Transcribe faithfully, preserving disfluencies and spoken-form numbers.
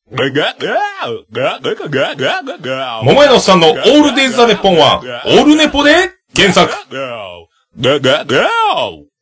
桃屋のおっさんのオールデイズ・ザ・ネッポンは、オールネポで検索。